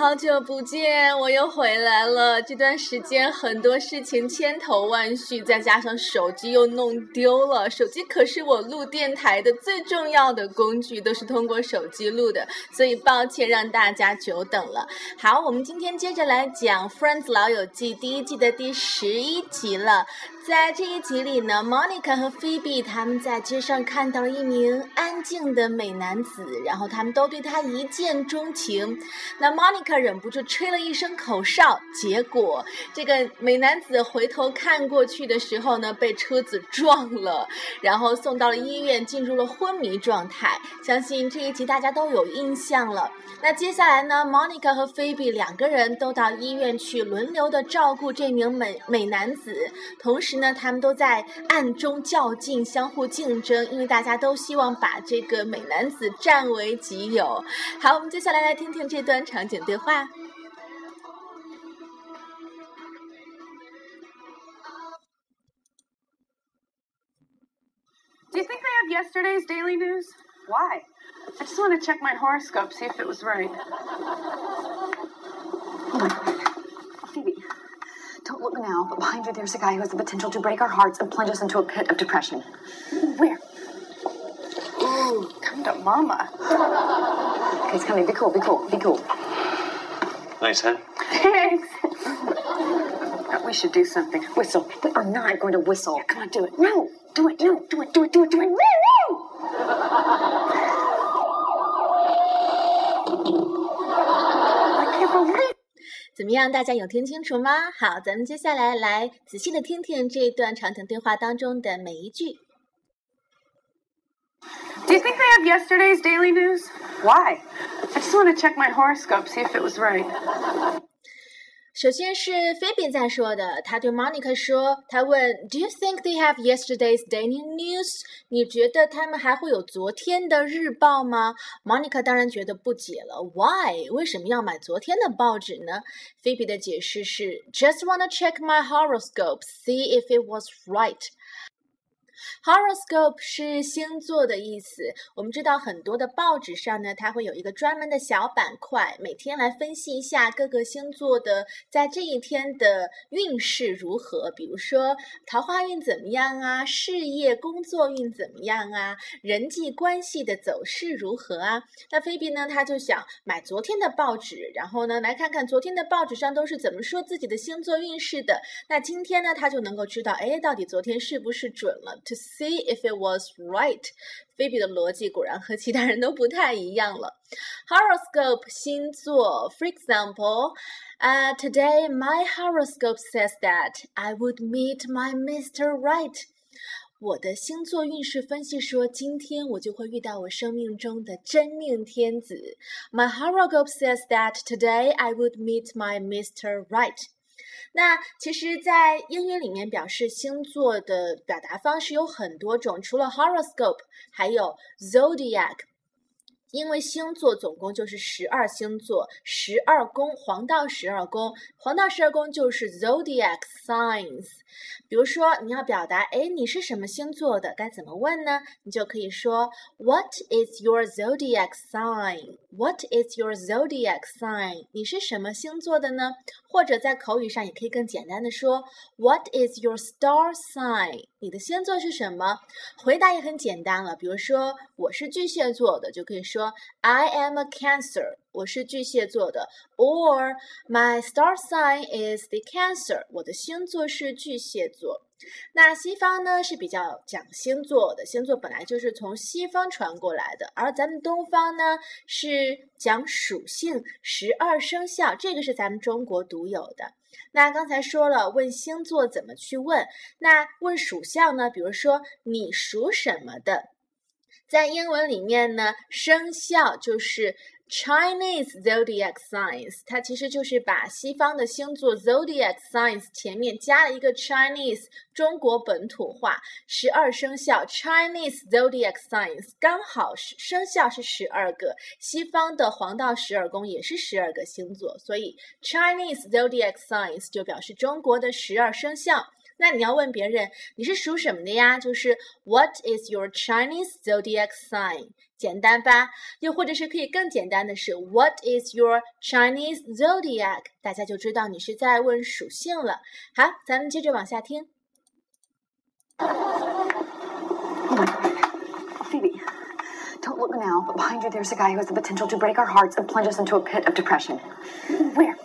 好久不见，我又回来了。这段时间很多事情千头万绪，再加上手机又弄丢了。手机可是我录电台的最重要的工具，都是通过手机录的，所以抱歉让大家久等了。好，我们今天接着来讲《Friends 老友记》第一季的第11集了。在这一集里呢 Monica 和 Phoebe 他们在街上看到了一名安静的美男子，然后他们都对他一见钟情。那 Monica 忍不住吹了一声口哨，结果这个美男子回头看过去的时候呢，被车子撞了，然后送到了医院，进入了昏迷状态。相信这一集大家都有印象了。那接下来呢 Monica 和 Phoebe 两个人都到医院去轮流的照顾这名美男子，同时呢他们都在暗中较劲，相互竞争，因为大家都希望把这个美男子占为己有。好，我们接下来听听这段场景对话。 Do you think they have yesterday's daily news? Why? I just want to check my horoscope, see if it was right. Oh my God. Phoebe, don't look now, but behind you there's a guy who has the potential to break our hearts and plunge us into a pit of depression. Where? Ooh, come to mama. Okay, he's coming. Be cool, be cool, be cool. Nice, huh? Thanks. We should do something. Whistle. We are not going to whistle. Yeah, come on, do it. No, do it, no, do it, do it, do it, do it. Woo, woo! I can't believe 怎么样，大家有听清楚吗？好，咱们接下来来仔细的听听这段场景对话当中的每一句。 Do you think they have yesterday's daily news? Why? I just want to check my horoscope, see if it was right. 首先是 Phoebe 在说的，他对 Monica 说，他问 Do you think they have yesterday's daily news? 你觉得他们还会有昨天的日报吗？ Monica 当然觉得不解了 Why? 为什么要买昨天的报纸呢？ Phoebe 的解释是 Just wanna check my horoscope, see if it was right.Horoscope 是星座的意思，我们知道很多的报纸上呢，它会有一个专门的小板块，每天来分析一下各个星座的在这一天的运势如何，比如说桃花运怎么样啊，事业工作运怎么样啊，人际关系的走势如何啊。那菲比呢，他就想买昨天的报纸，然后呢来看看昨天的报纸上都是怎么说自己的星座运势的，那今天呢他就能够知道到底昨天是不是准了，to see if it was right. 菲比的逻辑果然和其他人都不太一样了。Horoscope 星座 For example, today my horoscope says that I would meet my Mr. Right. 我的星座运势分析说，今天我就会遇到我生命中的真命天子。My horoscope says that today I would meet my Mr. Right.那其实在英语里面表示星座的表达方式有很多种，除了 horoscope 还有 zodiac， 因为星座总共就是12星座，12宫，黄道12宫，黄道12宫就是 zodiac signs。 比如说你要表达你是什么星座的，该怎么问呢？你就可以说 What is your zodiac sign? What is your zodiac sign? 你是什么星座的呢？或者在口语上也可以更简单的说 What is your star sign? 你的星座是什么？回答也很简单了，比如说我是巨蟹座的，就可以说 I am a Cancer， 我是巨蟹座的， or my star sign is the Cancer， 我的星座是巨蟹座。那西方呢是比较讲星座的，星座本来就是从西方传过来的，而咱们东方呢是讲属性，12生肖，这个是咱们中国独有的。那刚才说了问星座怎么去问，那问属相呢，比如说你属什么的，在英文里面呢生肖就是 Chinese zodiac signs， 它其实就是把西方的星座 zodiac signs 前面加了一个 Chinese 中国本土化，12生肖 Chinese zodiac signs 刚好生肖是12个，西方的黄道12宫也是12个星座，所以 Chinese zodiac signs 就表示中国的12生肖。那你要问别人你是属什么的呀，就是 What is your Chinese zodiac sign？ 简单吧？又或者是可以更简单的是 What is your Chinese zodiac？ 大家就知道你是在问属性了。好，咱们接着往下听。 Oh my God. Phoebe, don't look now, but behind you there's a guy who has the potential to break our hearts and plunge us into a pit of depression. Where?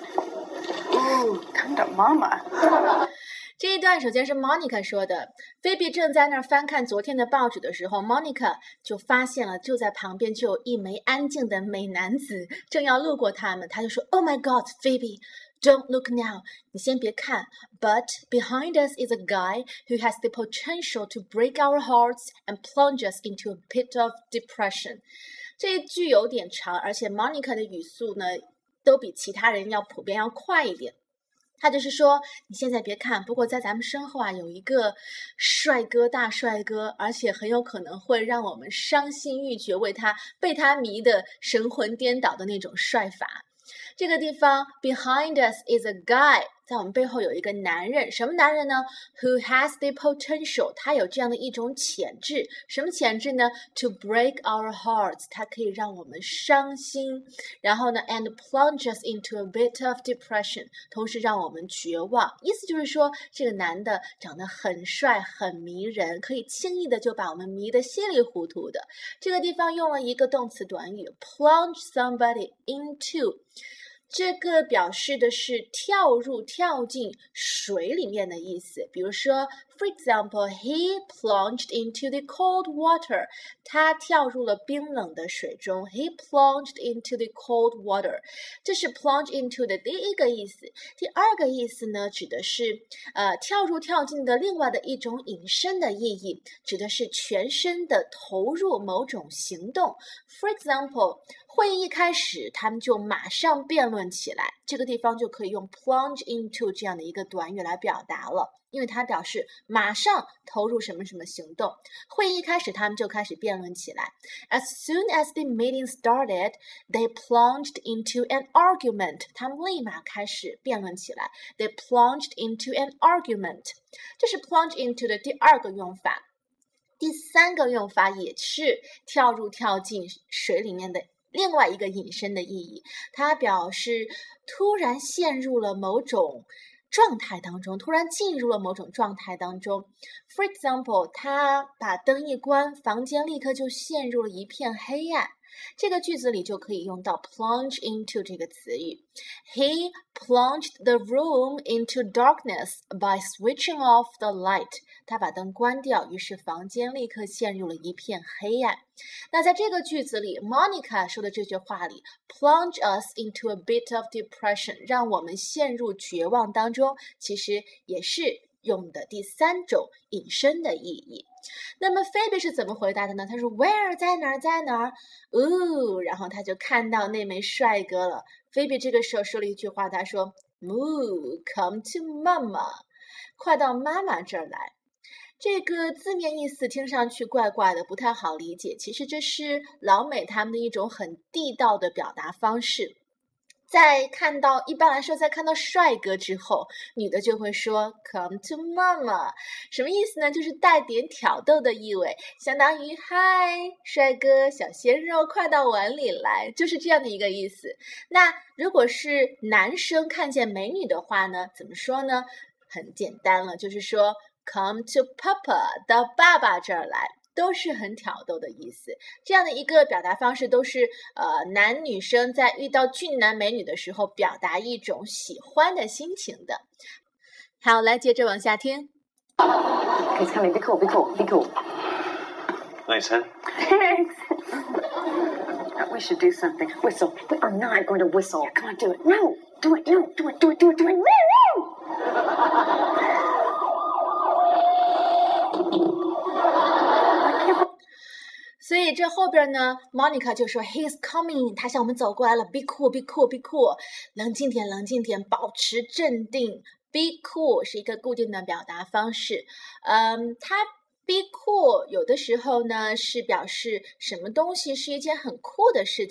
Ooh, come to Mama. 这一段首先是 Monica 说的，菲比正在那儿翻看昨天的报纸的时候 Monica 就发现了就在旁边就有一枚安静的美男子正要路过他们，他就说 Oh my God, Phoebe, don't look now. 你先别看 But behind us is a guy who has the potential to break our hearts and plunge us into a pit of depression. 这一句有点长，而且 Monica 的语速呢都比其他人要普遍要快一点。他就是说你现在别看，不过在咱们身后啊有一个帅哥大帅哥，而且很有可能会让我们伤心欲绝，被他迷得神魂颠倒的那种帅法。这个地方 behind us is a guy， 在我们背后有一个男人，什么男人呢 ？Who has the potential， 他有这样的一种潜质，什么潜质呢 ？To break our hearts， 他可以让我们伤心，然后呢 ，and plunge us into a bit of depression， 同时让我们绝望。意思就是说，这个男的长得很帅，很迷人，可以轻易的就把我们迷得稀里糊涂的。这个地方用了一个动词短语 ，plunge somebody into。这个表示的是跳进水里面的意思。比如说 For example, he plunged into the cold water. 他跳入了冰冷的水中。He plunged into the cold water. 这是 plunge into 的第一个意思。第二个意思呢，指的是跳进的另外的一种引申的意义，指的是全身的投入某种行动。For example, 会议一开始，他们就马上辩论起来，这个地方就可以用 plunge into 这样的一个短语来表达了，因为它表示马上投入什么什么行动。会议一开始，他们就开始辩论起来。As soon as the meeting started, they plunged into an argument. 他们立马开始辩论起来。They plunged into an argument. 这是 plunge into 的第二个用法。第三个用法也是跳进水里面的另外一个引申的意义，它表示突然陷入了某种状态当中，突然进入了某种状态当中。For example, 他把灯一关，房间立刻就陷入了一片黑暗。这个句子里就可以用到 plunge into 这个词语。He plunged the room into darkness by switching off the light. 他把灯关掉，于是房间立刻陷入了一片黑暗。那在这个句子里 Monica 说的这句话里 plunge us into a bit of depression， 让我们陷入绝望当中，其实也是用的第三种引申的意义。那么菲比是怎么回答的呢？他说 Where 在哪儿？然后他就看到那枚帅哥了。菲比这个时候说了一句话，他说 come to mama， 快到妈妈这儿来。这个字面意思听上去怪怪的，不太好理解。其实这是老美他们的一种很地道的表达方式。一般来说，在看到帅哥之后，女的就会说 Come to mama， 什么意思呢？就是带点挑逗的意味，相当于嗨，帅哥，小鲜肉，快到碗里来，就是这样的一个意思。那如果是男生看见美女的话呢，怎么说呢？很简单了，就是说 Come to papa， 到爸爸这儿来。都是很挑逗的意思，这样的一个表达方式都是男女生在遇到俊男美女的时候表达一种喜欢的心情的。好，来接着往下听。 Okay, it's coming. Be cool. Nice, huh? Thanks. We should do something. Whistle. We are not going to whistle. Come on, do it. No, do it. Woo! 所以这后边呢 Monica 就说 He's coming， 他向我们走过来了。 Be cool， 冷静点，保持镇定。 Be cool 是一个固定的表达方式。它 Be cool 有的时候呢是表示什么东西是一件很酷的事情。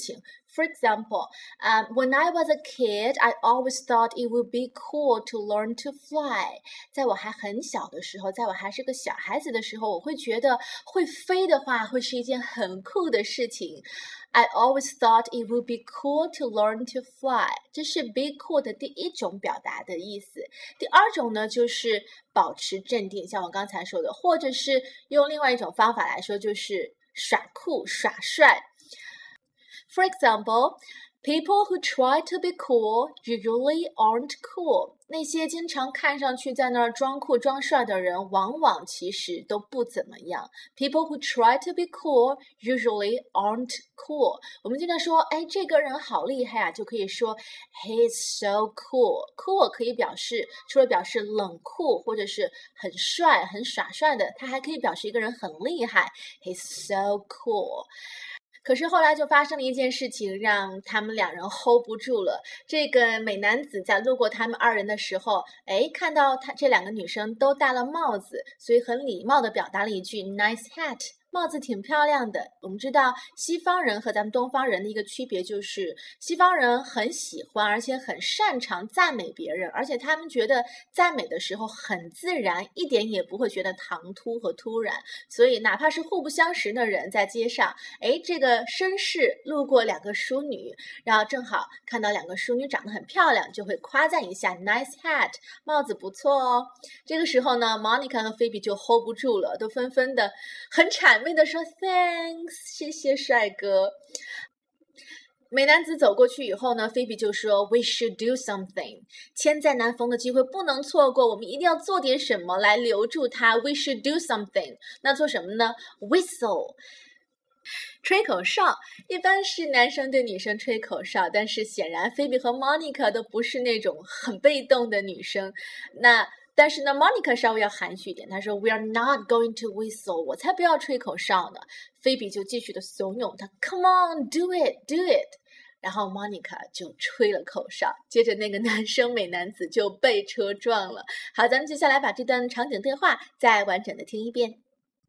For example, when I was a kid, I always thought it would be cool to learn to fly. 在我还很小的时候，在我还是个小孩子的时候，我会觉得会飞的话会是一件很酷的事情。I always thought it would be cool to learn to fly. 这是 be cool 的第一种表达的意思。第二种呢，就是保持镇定，像我刚才说的，或者是用另外一种方法来说，就是耍酷、耍帅。For example, people who try to be cool usually aren't cool. 那些经常看上去在那儿装酷装帅的人，往往其实都不怎么样。People who try to be cool usually aren't cool. 我们经常说，哎，这个人好厉害啊，就可以说 He's so cool. Cool 可以表示，除了表示冷酷或者是很帅、很耍帅的，它还可以表示一个人很厉害。He's so cool.可是后来就发生了一件事情，让他们两人 hold 不住了。这个美男子在路过他们二人的时候，看到这两个女生都戴了帽子，所以很礼貌地表达了一句 nice hat。帽子挺漂亮的。我们知道西方人和咱们东方人的一个区别就是西方人很喜欢而且很擅长赞美别人，而且他们觉得赞美的时候很自然，一点也不会觉得唐突和突然。所以哪怕是互不相识的人在街上，这个绅士路过两个淑女，然后正好看到两个淑女长得很漂亮，就会夸赞一下 nice hat， 帽子不错哦。这个时候呢 Monica 和菲比就 hold 不住了，都纷纷的很谄媚的说 Thanks， 谢谢帅哥。美男子走过去以后呢，菲比就说 We should do something， 千载难逢的机会不能错过，我们一定要做点什么来留住他。 We should do something， 那做什么呢？ Whistle， 吹口哨。一般是男生对女生吹口哨，但是显然菲比和 Monica 都不是那种很被动的女生。但是呢 Monica 稍微要含蓄一点，她说 We are not going to whistle， 我才不要吹口哨呢。菲比就继续的怂恿她 Come on do it do it， 然后 Monica 就吹了口哨，接着那个男生美男子就被车撞了。好，咱们接下来把这段场景对话再完整的听一遍。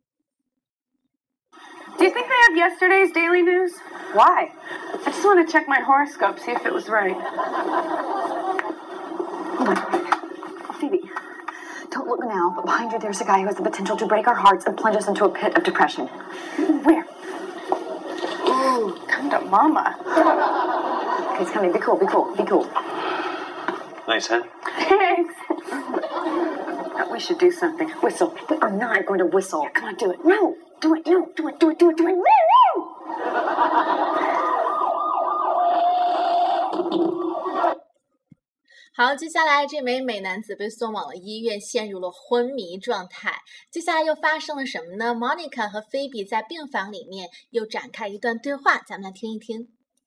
Do you think they have yesterday's daily news? Why? I just want to check my horoscope, see if it was right. Oh my God. Phoebe.Don't look now, but behind you there's a guy who has the potential to break our hearts and plunge us into a pit of depression. Where? Ooh, come to mama. Okay, it's coming. Be cool, be cool, be cool. Nice, huh? Thanks. We should do something. Whistle. We are not going to whistle. Yeah, come on, do it. No, do it, no, do it, do it, do it, do it. Woo! 好，接下来这枚美男子被送往了医院，陷入了昏迷状态。接下来又发生了什么呢？ Monica 和菲比在病房里面又展开一段对话，咱们来听一听。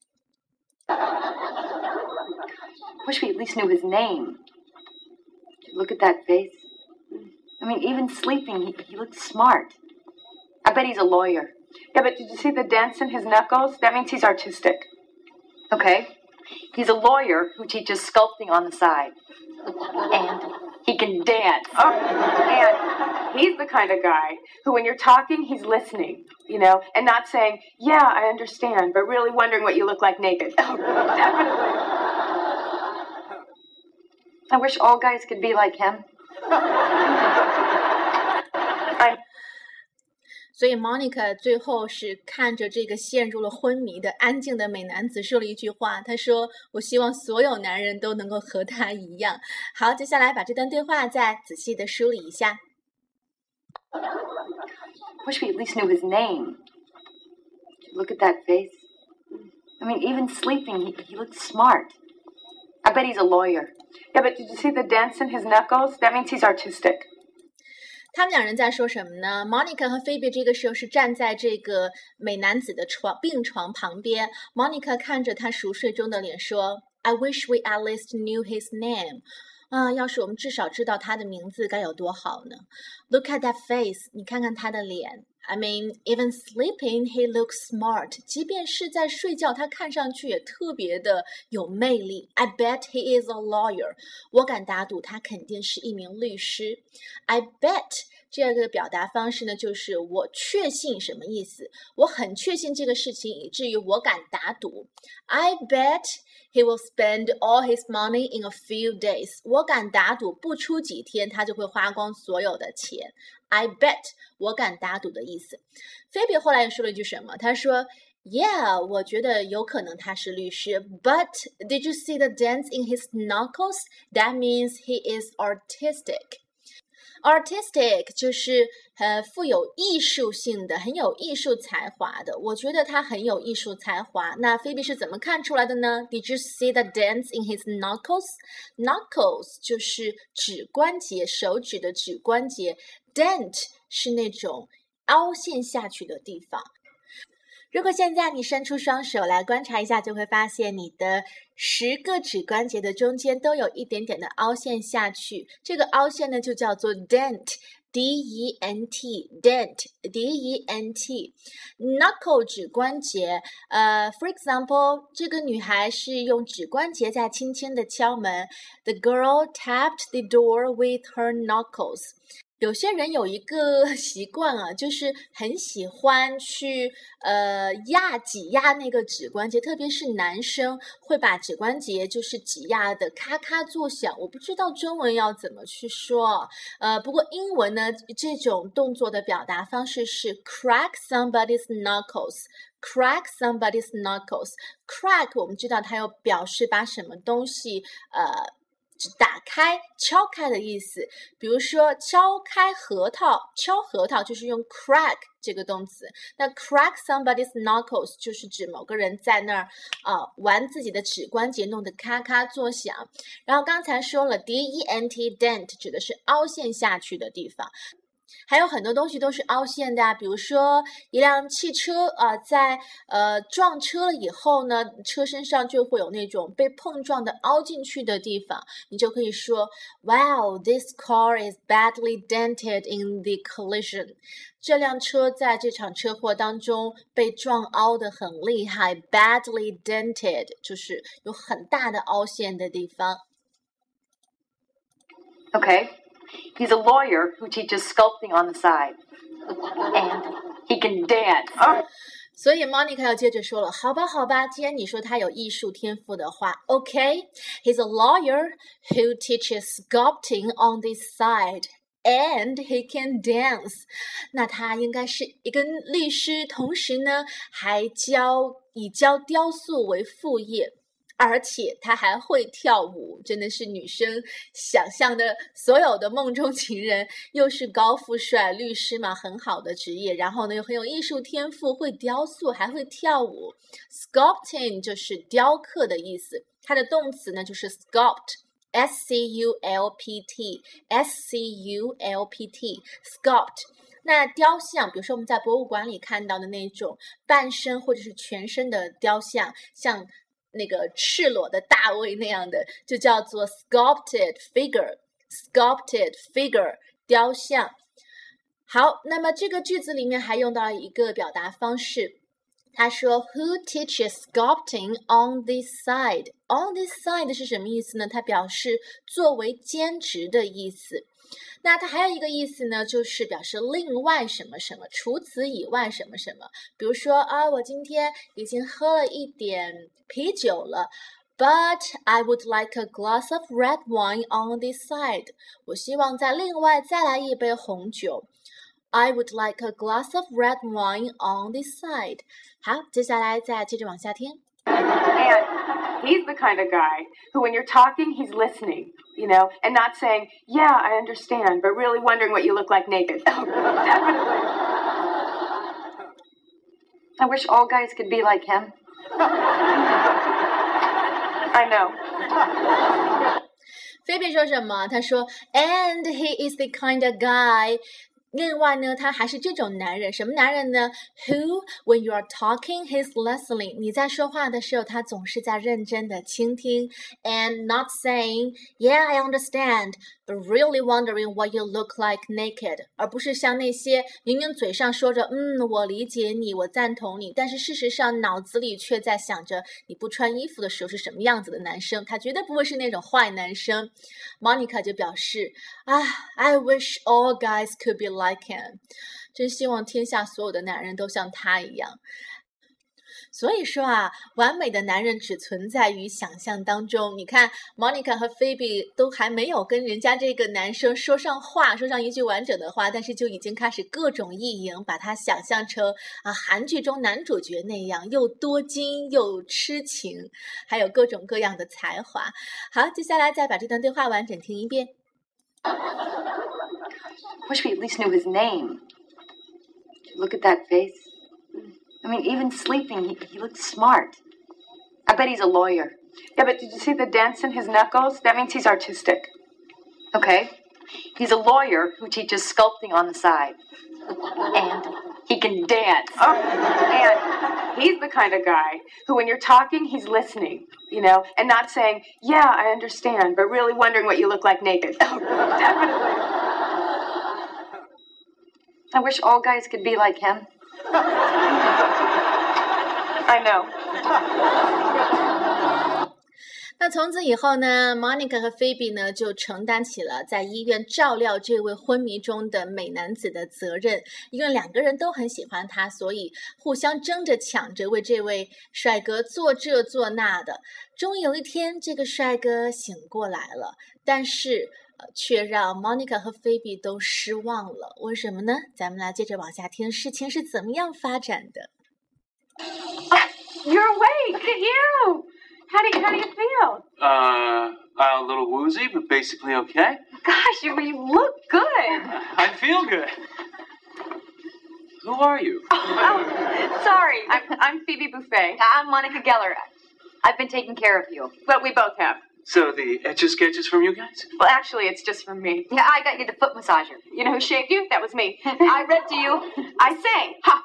Wish we at least knew his name. Look at that face. I mean, even sleeping, he looks smart. I bet he's a lawyer. Yeah, but did you see the dents in his knuckles? That means he's artistic. Okay. He's a lawyer who teaches sculpting on the side. And he can dance. Oh, and he's the kind of guy who, when you're talking, he's listening, and not saying, yeah, I understand, but really wondering what you look like naked. Oh, definitely. I wish all guys could be like him. 所以 Monica 最后是看着这个陷入了昏迷的安静的美男子说了一句话，她说我希望所有男人都能够和他一样。好，接下来把这段对话再仔细的梳理一下。 Wish we at least knew his name. Look at that face. I mean, even sleeping, he looks smart. I bet he's a lawyer. Yeah, but did you see the dents in his knuckles? That means he's artistic. 他们两人在说什么呢？ Monica 和菲比这个时候是站在这个美男子的病床旁边。 Monica 看着他熟睡中的脸说 I wish we at least knew his name。 要是我们至少知道他的名字该有多好呢？ Look at that face， 你看看他的脸。 I mean, even sleeping, he looks smart. 即便是在睡觉，他看上去也特别的有魅力。 I bet he is a lawyer. 我敢打赌他肯定是一名律师。 I bet 这个表达方式呢，就是我确信什么意思？我很确信这个事情，以至于我敢打赌。I bet he will spend all his money in a few days. 我敢打赌，不出几天他就会花光所有的钱。I bet 我敢打赌的意思。菲比后来又说了一句什么？他说 Yeah, 我觉得有可能他是律师 But did you see the dents in his knuckles? That means he is artistic.Artistic 就是富有艺术性的，很有艺术才华的。我觉得他很有艺术才华。那菲比是怎么看出来的呢？ Did you see the dents in his knuckles? Knuckles 就是指关节，手指的指关节。Dent 是那种凹陷下去的地方。如果现在你伸出双手来观察一下，就会发现你的10个指关节的中间都有一点点的凹陷下去。这个凹陷呢就叫做 dent。D-E-N-T dent D-E-N-T knuckle 指关节for example 这个女孩是用指关节在轻轻的敲门 The girl tapped the door with her knuckles有些人有一个习惯啊，就是很喜欢去挤压那个指关节，特别是男生会把指关节就是挤压的咔咔作响。我不知道中文要怎么去说，不过英文呢，这种动作的表达方式是 crack somebody's knuckles。Crack somebody's knuckles. Crack 我们知道它有表示把什么东西打开敲开的意思，比如说敲开核桃，敲核桃就是用 crack 这个动词。那 crack somebody's knuckles 就是指某个人在那儿玩自己的指关节，弄得咔咔作响。然后刚才说了 D-E-N-T dent 指的是凹陷下去的地方。还有很多东西都是凹陷的啊，比如说一辆汽车在撞车了以后呢，车身上就会有那种被碰撞的凹进去的地方，你就可以说 Wow, this car is badly dented in the collision. 这辆车在这场车祸当中被撞凹得很厉害 badly dented 就是有很大的凹陷的地方。 Okay.He's a lawyer who teaches sculpting on the side. And he can dance. 所以 Monica 要接着说了，好吧，既然你说他有艺术天赋的话 OK, he's a lawyer who teaches sculpting on the side. And he can dance. 那他应该是一个律师，同时呢还以教雕塑为副业。而且他还会跳舞，真的是女生想象的所有的梦中情人，又是高富帅律师嘛，很好的职业，然后呢又很有艺术天赋，会雕塑还会跳舞。 Sculpting 就是雕刻的意思，它的动词呢就是 sculpt S-C-U-L-P-T S-C-U-L-P-T sculpt。那雕像，比如说我们在博物馆里看到的那种半身或者是全身的雕像，像那个赤裸的大卫那样的，就叫做 sculpted figure 雕像。好，那么这个句子里面还用到了一个表达方式，他说 Who teaches sculpting on this side? On this side 是什么意思呢？它表示作为兼职的意思。那它还有一个意思呢，就是表示另外什么什么，除此以外什么什么。比如说我今天已经喝了一点啤酒了 But I would like a glass of red wine on this side. 我希望再另外再来一杯红酒。I would like a glass of red wine on this side. 好，接下来再接着往下听。 And he's the kind of guy who, when you're talking, he's listening, and not saying, yeah, I understand, but really wondering what you look like naked. Definitely. I wish all guys could be like him. I know. 菲比说什么？他说 And he is the kind of guy另外呢，他还是这种男人，什么男人呢 ？Who, when you are talking, he's listening. 你在说话的时候，他总是在认真的倾听 ，and not saying, "Yeah, I understand." but really wondering what you look like naked， 而不是像那些明明嘴上说着我理解你，我赞同你，但是事实上脑子里却在想着你不穿衣服的时候是什么样子的男生。他绝对不会是那种坏男生。 Monica 就表示I wish all guys could be like him， 真希望天下所有的男人都像他一样。所以说完美的男人只存在于想象当中。你看 Monica 和 Phoebe 都还没有跟人家这个男生说上一句完整的话，但是就已经开始各种意淫，把他想象成韩剧中男主角那样，又多金又痴情，还有各种各样的才华。好，接下来再把这段对话完整听一遍。 Wish we at least knew his name. Look at that face. I mean, even sleeping, he looks smart. I bet he's a lawyer. Yeah, but did you see the dents in his knuckles? That means he's artistic. Okay. He's a lawyer who teaches sculpting on the side. And he can dance. Oh, and he's the kind of guy who, when you're talking, he's listening, and not saying, yeah, I understand, but really wondering what you look like naked. Oh, definitely. I wish all guys could be like him. I know. 那从此以后呢 Monica 和 Phoebe 呢就承担起了在医院照料这位昏迷中的美男子的责任，因为两个人都很喜欢他，所以互相争着抢着为这位帅哥做这做那的。终于有一天这个帅哥醒过来了，但是却让 Monica 和 Phoebe 都失望了。为什么呢？咱们来接着往下听事情是怎么样发展的。 You're awake. Look at you. How do you feel? A little woozy, but basically okay. Gosh, you look good. I feel good. Who are you? Oh, sorry. I'm Phoebe Buffet. I'm Monica Geller. I've been taking care of you. But we both have. So the Etch-a-Sketch from you guys? Well, actually, it's just from me. Yeah, I got you the foot massager. You know who shaved you? That was me. I read to you. I sang. Ha!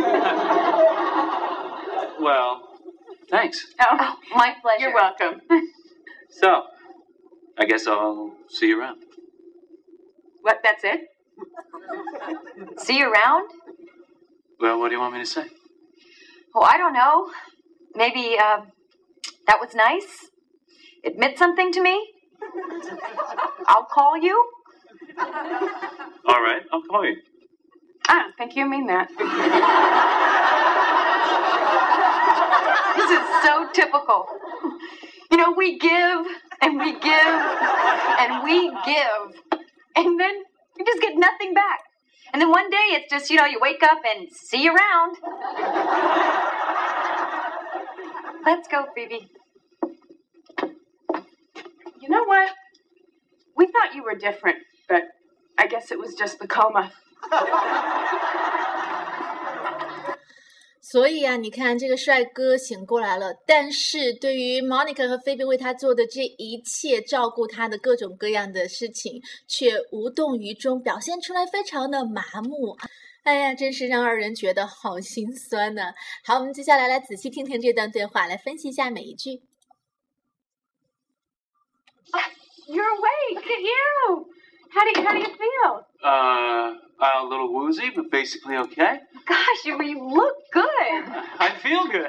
Well, thanks. Oh, my pleasure. You're welcome. So, I guess I'll see you around. What, that's it? See you around? Well, what do you want me to say? Oh, I don't know. Maybe, that was nice. Admit something to me. I'll call you. All right, I'll call you. I don't think you mean that. This is so typical. We give, and we give, and we give, and then you just get nothing back. And then one day it's just, you wake up and see you around. Let's go, Phoebe. You know what? We thought you were different, but I guess it was just the coma. 所以你看这个帅哥醒过来了，但是对于 Monica 和 Phoebe 为他做的这一切照顾他的各种各样的事情却无动于衷，表现出来非常的麻木。哎呀，真是让二人觉得好心酸呢。好，我们接下来仔细听听这段对话，来分析一下每一句。 You're awake. Look at you. How do you feel? A little woozy, but basically okay. Gosh, you look good. I feel good.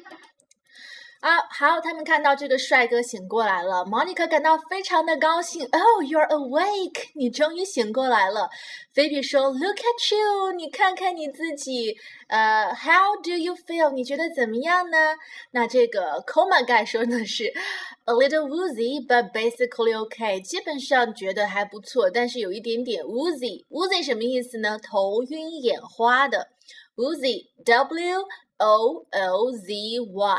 好，他们看到这个帅哥醒过来了 Monica 感到非常的高兴 Oh, you're awake 你终于醒过来了 Phoebe 说 Look at you 你看看你自己How do you feel 你觉得怎么样呢那这个 Coma Guy 说的是 A little woozy but basically okay 基本上觉得还不错但是有一点点 woozy Woozy 什么意思呢头晕眼花的 Woozy W-O-O-Z-Y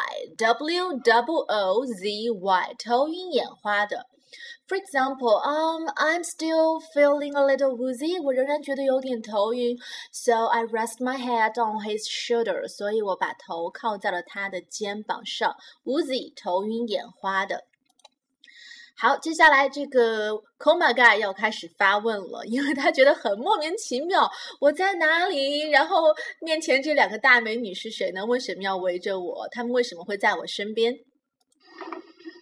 W-O-O-Z-Y 头晕眼花的 For example, I'm still feeling a little woozy 我仍然觉得有点头晕 So I rest my head on his shoulder 所以我把头靠在了他的肩膀上 Woozy 头晕眼花的好，接下来这个 Coma Guy 要开始发问了，因为他觉得很莫名其妙，我在哪里？然后面前这两个大美女是谁呢？为什么要围着我？他们为什么会在我身边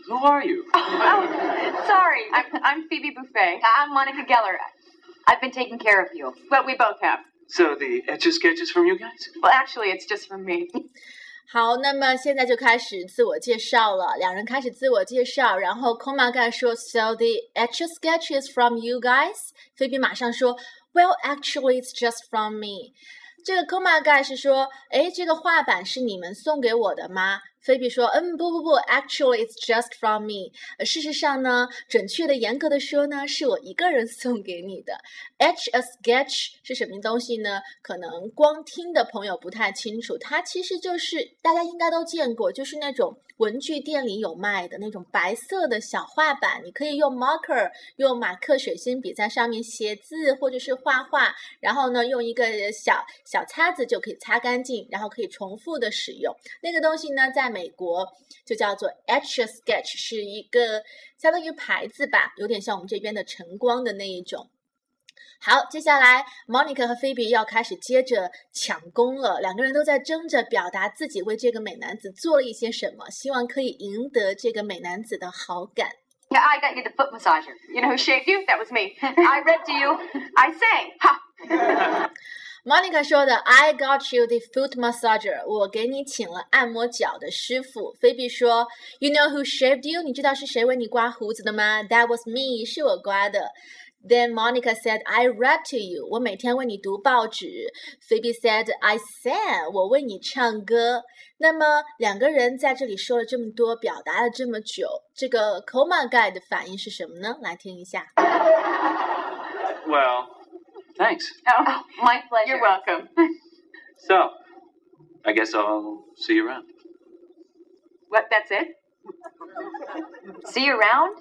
Who are you? Oh, sorry. I'm Phoebe Buffet. I'm Monica Geller. I've been taking care of you. Well, we both have. So the Etch-a-Sketch is from you guys? Well, actually, it's just from me. 好，那么现在就开始自我介绍了，两人开始自我介绍，然后 Coma Guy 说 So the Etch-a-Sketch is from you guys? 菲比马上说 Well, actually, it's just from me. 这个 Coma Guy 是说，诶，这个画板是你们送给我的吗？菲比说，不 ，actually it's just from me。事实上呢，准确的、严格的说呢，是我一个人送给你的。Etch-a-Sketch 是什么东西呢？可能光听的朋友不太清楚，它其实就是大家应该都见过，就是那种文具店里有卖的那种白色的小画板，你可以用 marker 用马克水性笔在上面写字或者是画画，然后呢用一个小擦子就可以擦干净，然后可以重复的使用。那个东西呢，在美国就叫做 Etch-a-Sketch， 是一个相当于牌子吧，有点像我们这边的晨光的那一种。好，接下来 Monica 和 Phoebe 要开始接着抢功了，两个人都在争着表达自己为这个美男子做了一些什么，希望可以赢得这个美男子的好感。 Yeah, I got you the foot massager. You know who shaved you? That was me. I read to you. I sang. Ha! Monica 说的 I got you the foot massager， 我给你请了按摩脚的师傅。菲比说 You know who shaved you？ 你知道是谁为你刮胡子的吗？ That was me， 是我刮的。Then Monica said, I read to you. 我每天为你读报纸。Phoebe said, I sang. 我为你唱歌。那么两个人在这里说了这么多，表达了这么久，这个 Coma Guy 的反应是什么呢？来听一下。 Well, thanks. Oh, My pleasure. you're welcome. So, I guess I'll see you around. What, that's it? See you around?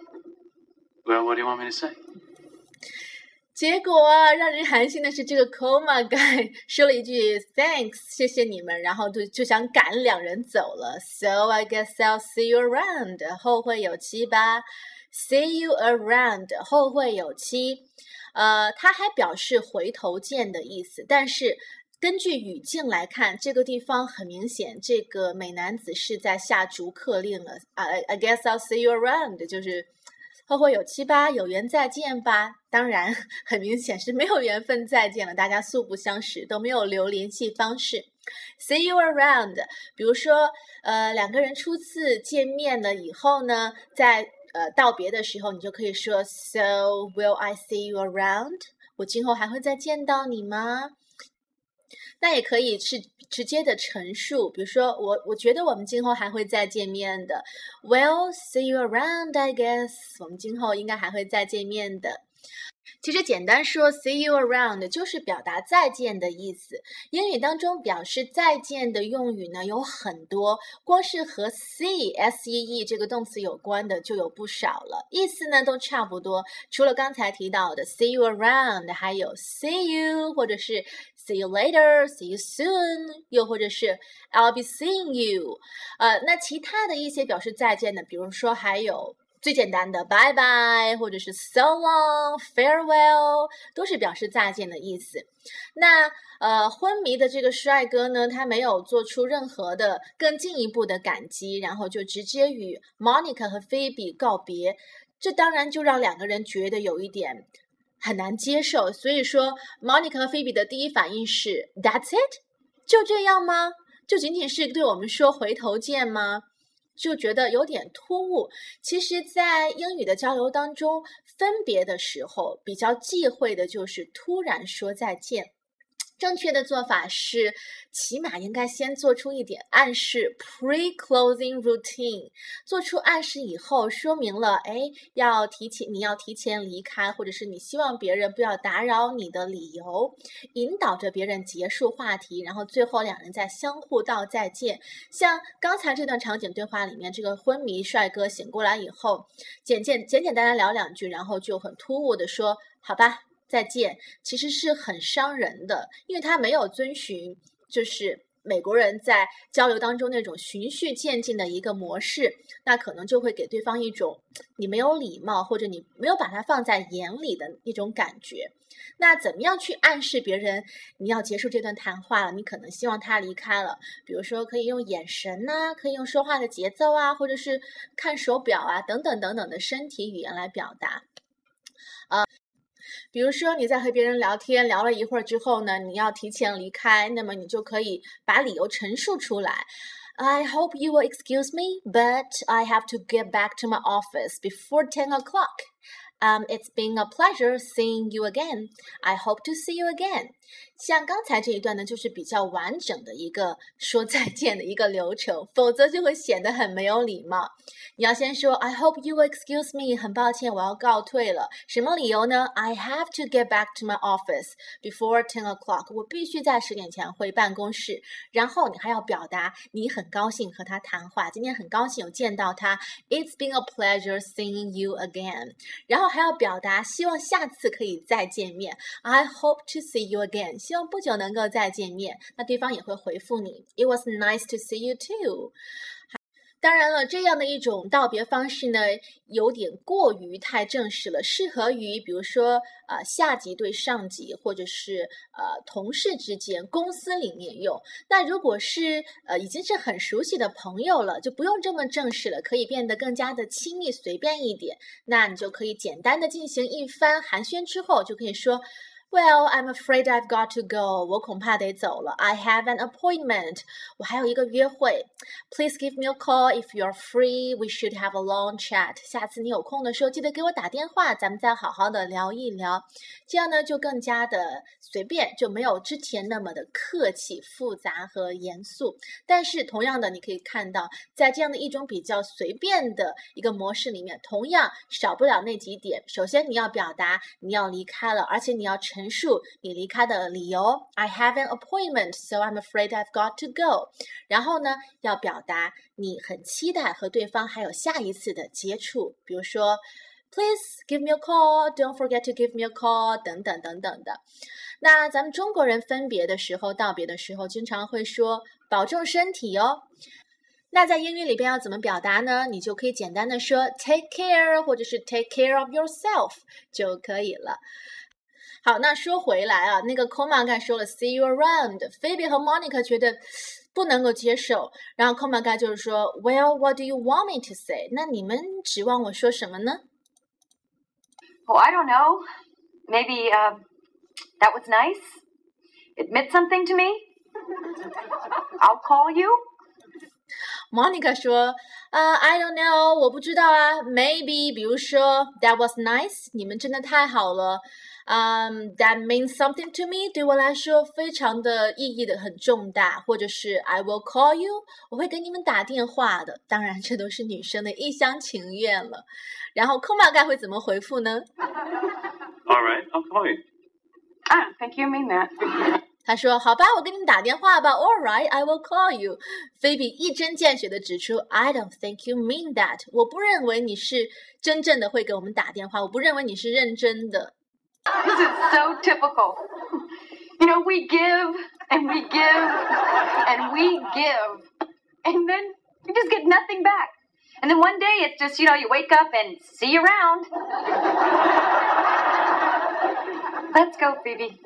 Well, what do you want me to say? 结果啊，让人寒心的是，这个 Coma Guy 说了一句 Thanks， 谢谢你们，然后就想赶两人走了。So I guess I'll see you around， 后会有期吧。See you around， 后会有期。他还表示回头见的意思，但是根据语境来看，这个地方很明显，这个美男子是在下逐客令了。I guess I'll see you around， 就是后会有期吧，有缘再见吧。当然，很明显是没有缘分再见了，大家素不相识，都没有留联系方式。See you around， 比如说，两个人初次见面了以后呢，在道别的时候，你就可以说 So will I see you around？ 我今后还会再见到你吗？那也可以是直接的陈述，比如说我觉得我们今后还会再见面的。Well, see you around, I guess。我们今后应该还会再见面的。其实简单说 see you around 就是表达再见的意思。英语当中表示再见的用语呢有很多，光是和 see S-E-E 这个动词有关的就有不少了，意思呢都差不多。除了刚才提到的 see you around， 还有 see you 或者是 see you later, see you soon， 又或者是 I'll be seeing you。那其他的一些表示再见的，比如说还有最简单的 bye bye 或者是 so long, farewell 都是表示再见的意思。那昏迷的这个帅哥呢，他没有做出任何的更进一步的感激，然后就直接与 Monica 和 Phoebe 告别，这当然就让两个人觉得有一点很难接受。所以说 Monica 和 Phoebe 的第一反应是 That's it？ 就这样吗？就仅仅是对我们说回头见吗？就觉得有点突兀。其实在英语的交流当中，分别的时候比较忌讳的就是突然说再见。正确的做法是起码应该先做出一点暗示 pre-closing routine， 做出暗示以后说明了你要提前离开，或者是你希望别人不要打扰你的理由，引导着别人结束话题，然后最后两人再相互道再见。像刚才这段场景对话里面，这个昏迷帅哥醒过来以后，简单单聊两句，然后就很突兀的说好吧再见，其实是很伤人的，因为他没有遵循就是美国人在交流当中那种循序渐进的一个模式，那可能就会给对方一种你没有礼貌，或者你没有把它放在眼里的一种感觉。那怎么样去暗示别人你要结束这段谈话了，你可能希望他离开了？比如说可以用眼神啊，可以用说话的节奏啊，或者是看手表啊，等等等等的身体语言来表达。比如说你在和别人聊天聊了一会儿之后呢，你要提前离开，那么你就可以把理由陈述出来。I hope you will excuse me, but I have to get back to my office before 10 o'clock. It's been a pleasure seeing you again. I hope to see you again. 像刚才这一段呢，就是比较完整的一个说再见的一个流程，否则就会显得很没有礼貌。你要先说 I hope you will excuse me. 很抱歉，我要告退了。什么理由呢？ I have to get back to my office before 10 o'clock. 我必须在10点前回办公室。然后你还要表达你很高兴和他谈话，今天很高兴有见到他。It's been a pleasure seeing you again. 然后还要表达希望下次可以再见面。I hope to see you again. 希望不久能够再见面。那对方也会回复你 It was nice to see you too. 当然了，这样的一种道别方式呢，有点过于太正式了，适合于比如说下级对上级，或者是同事之间，公司里面用。那如果是已经是很熟悉的朋友了，就不用这么正式了，可以变得更加的亲密随便一点。那你就可以简单的进行一番寒暄之后，就可以说Well, I'm afraid I've got to go. 我恐怕得走了。I have an appointment. 我还有一个约会。Please give me a call if you're free. We should have a long chat. 下次你有空的时候，记得给我打电话，咱们再好好的聊一聊。这样呢，就更加的随便，就没有之前那么的客气、复杂和严肃。但是同样的，你可以看到，在这样的一种比较随便的一个模式里面，同样少不了那几点。首先，你要表达你要离开了，而且你要陈述你离开的理由 I have an appointment, so I'm afraid I've got to go. 然后呢，要表达你很期待和对方还有下一次的接触，比如说 Please give me a call, don't forget to give me a call 等等等等的。那咱们中国人分别的时候道别的时候经常会说保重身体哦。那在英语里边要怎么表达呢？你就可以简单的说 take care 或者是 take care of yourself 就可以了。好，那说回来啊，那个 Coma 刚才说了 see you around， Phoebe 和 Monica 觉得不能够接受，然后 Coma 刚才就是说 Well, what do you want me to say？ 那你们指望我说什么呢？ Oh, I don't know. Maybe, that was nice. It meant something to me. I'll call you. Monica 说 I don't know， 我不知道啊 Maybe 比如说 That was nice， 你们真的太好了That means something to me， 对我来说非常的意义的很重大，或者是 I will call you， 我会给你们打电话的。当然这都是女生的一厢情愿了。然后 Coma 该会怎么回复呢？ All right, I'll call you. I don't think you mean that. 他说好吧，我给你们打电话吧 All right, I will call you。 Phoebe 一针见血地指出 I don't think you mean that， 我不认为你是真正的会给我们打电话，我不认为你是认真的。 This is so typical. You know, we give and we give and we give, and then you just get nothing back. And then one day it's just, you know, you wake up and see you around. Let's go, Phoebe.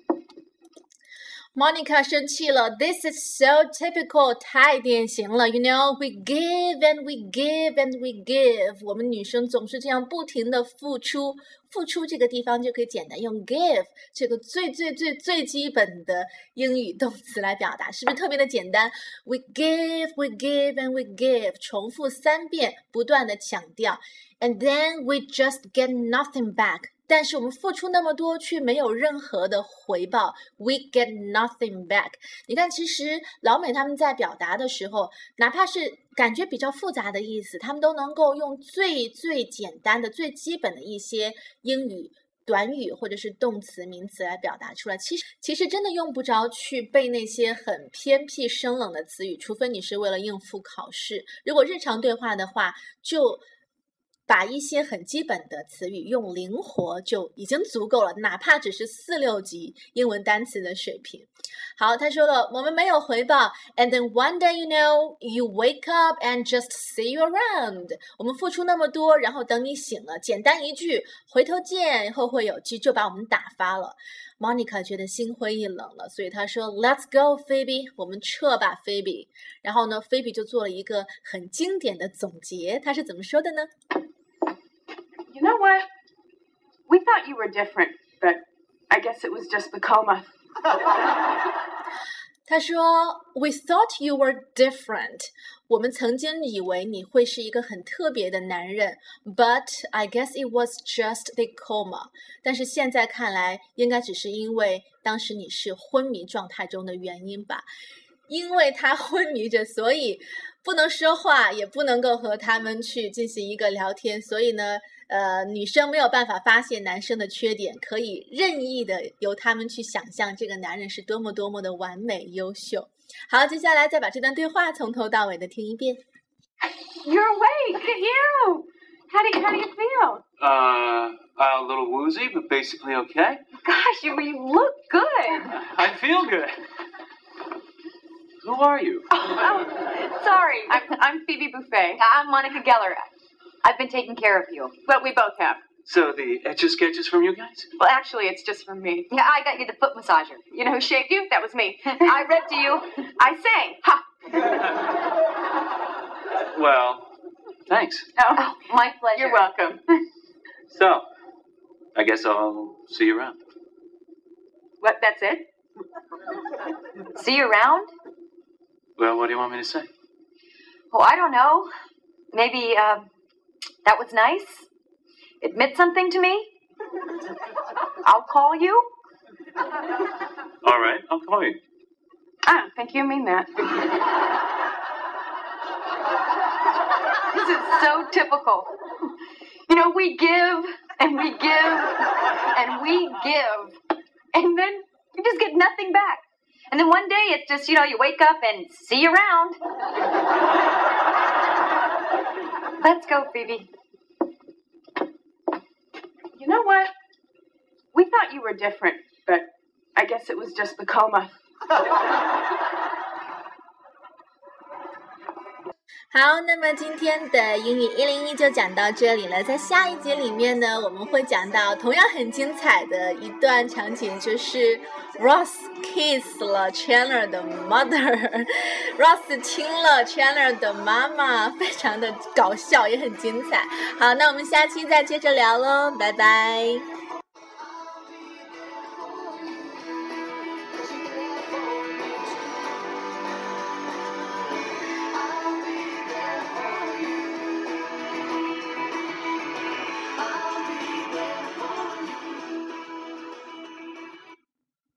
Monica 生气了 This is so typical 太典型了 You know, we give and we give and we give 我们女生总是这样不停的付出付出这个地方就可以简单用 give 这个最基本的英语动词来表达是不是特别的简单 We give, we give and we give 重复3遍不断的强调 And then we just get nothing back但是我们付出那么多却没有任何的回报 We get nothing back 你看其实老美他们在表达的时候哪怕是感觉比较复杂的意思他们都能够用最简单的最基本的一些英语短语或者是动词名词来表达出来其实真的用不着去背那些很偏僻生冷的词语除非你是为了应付考试如果日常对话的话就把一些很基本的词语用灵活就已经足够了，哪怕只是4、6级英文单词的水平。好，他说了，我们没有回报 and then one day you wake up and just see you around。 我们付出那么多，然后等你醒了，简单一句回头见，后会有期，就把我们打发了。Monica 觉得心灰意冷了，所以她说 Let's go Phoebe， 我们撤吧 Phoebe。 然后呢 Phoebe 就做了一个很经典的总结，她是怎么说的呢？ You know what? We thought you were different, but I guess it was just the coma. 他说 We thought you were different， 我们曾经以为你会是一个很特别的男人， But I guess it was just the coma， 但是现在看来应该只是因为当时你是昏迷状态中的原因吧。因为他昏迷着，所以不能说话，也不能够和他们去进行一个聊天，所以呢女生没有办法发现男生的缺点，可以任意的由他们去想象这个男人是多么多么的完美优秀。好，接下来再把这段对话从头到尾的听一遍。 You're awake. Look at you. How do you feel? A little woozy, but basically okay. Gosh, you look good. I feel good. Who are you? Oh, sorry. I'm Phoebe Buffet. I'm Monica Geller. I've been taking care of you. Well, we both have. So the Etch-a-Sketch from you guys? Well, actually, it's just from me. Yeah, I got you the foot massager. You know who shaved you? That was me. I read to you. I sang. Ha! Well, thanks. Oh, My pleasure. you're welcome. So, I guess I'll see you around. What, that's it? See you around? Well, what do you want me to say? Oh, I don't know. Maybe, that was nice. It meant something to me. I'll call you. All right, I'll call you. I don't think you mean that. This is so typical. You know, we give and we give and we give, and then you just get nothing back. And then one day it's just, you wake up and see you around. Let's go, Phoebe. You know what? We thought you were different, but I guess it was just the coma. 好，那么今天的英语101就讲到这里了。在下一节里面呢，我们会讲到同样很精彩的一段场景，就是 Ross kiss 了 Chandler 的 mother，Ross 亲了 Chandler 的妈妈，非常的搞笑，也很精彩。好，那我们下期再接着聊咯，拜拜。